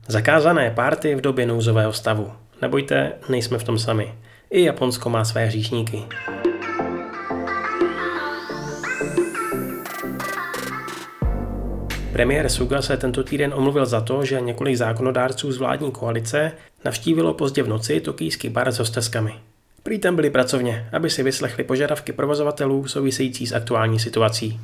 Zakázané párty v době nouzového stavu. Nebojte, nejsme v tom sami. I Japonsko má své hříšníky. Premiér Suga se tento týden omluvil za to, že několik zákonodárců z vládní koalice navštívilo pozdě v noci tokijský bar s hosteskami. Prý tam byli pracovně, aby si vyslechli požadavky provozovatelů související s aktuální situací.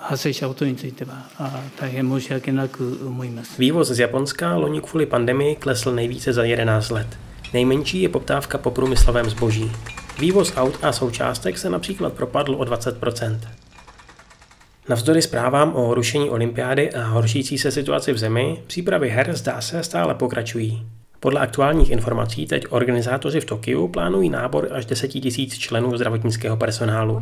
Vývoz z Japonska loni kvůli pandemii klesl nejvíce za 11 let. Nejmenší je poptávka po průmyslovém zboží. Vývoz aut a součástek se například propadl o 20%. Navzdory zprávám o rušení olympiády a horšící se situaci v zemi, přípravy her zdá se stále pokračují. Podle aktuálních informací teď organizátoři v Tokiu plánují nábor až 10 000 členů zdravotnického personálu.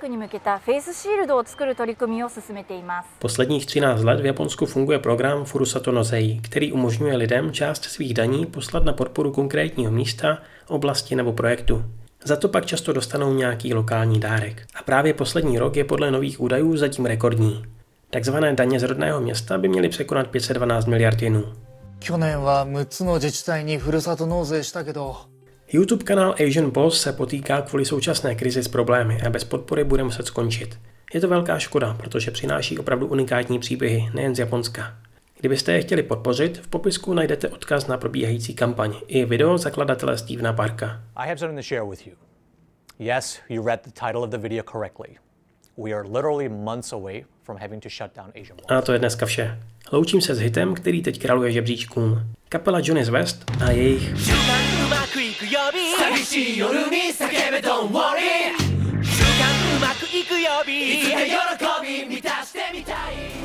Posledních 13 let v Japonsku funguje program Furusato no Zei, který umožňuje lidem část svých daní poslat na podporu konkrétního místa, oblasti nebo projektu. Za to pak často dostanou nějaký lokální dárek. A právě poslední rok je podle nových údajů zatím rekordní. Takzvané daně z rodného města by měly překonat 512 miliard jenů. YouTube kanál Asian Boss se potýká kvůli současné krizi s problémy a bez podpory bude muset skončit. Je to velká škoda, protože přináší opravdu unikátní příběhy, nejen z Japonska. Kdybyste je chtěli podpořit, v popisku najdete odkaz na probíhající kampaň i video zakladatele Stevena Parka. I have something to share with you. Yes, you read the title of the video correctly. We are literally months away from having to shut down Asian Boss. A to je dneska vše. Loučím se s hitem, který teď králuje žebříčkům. Kapela Johnny's West a jejich いつか喜び満たしてみたい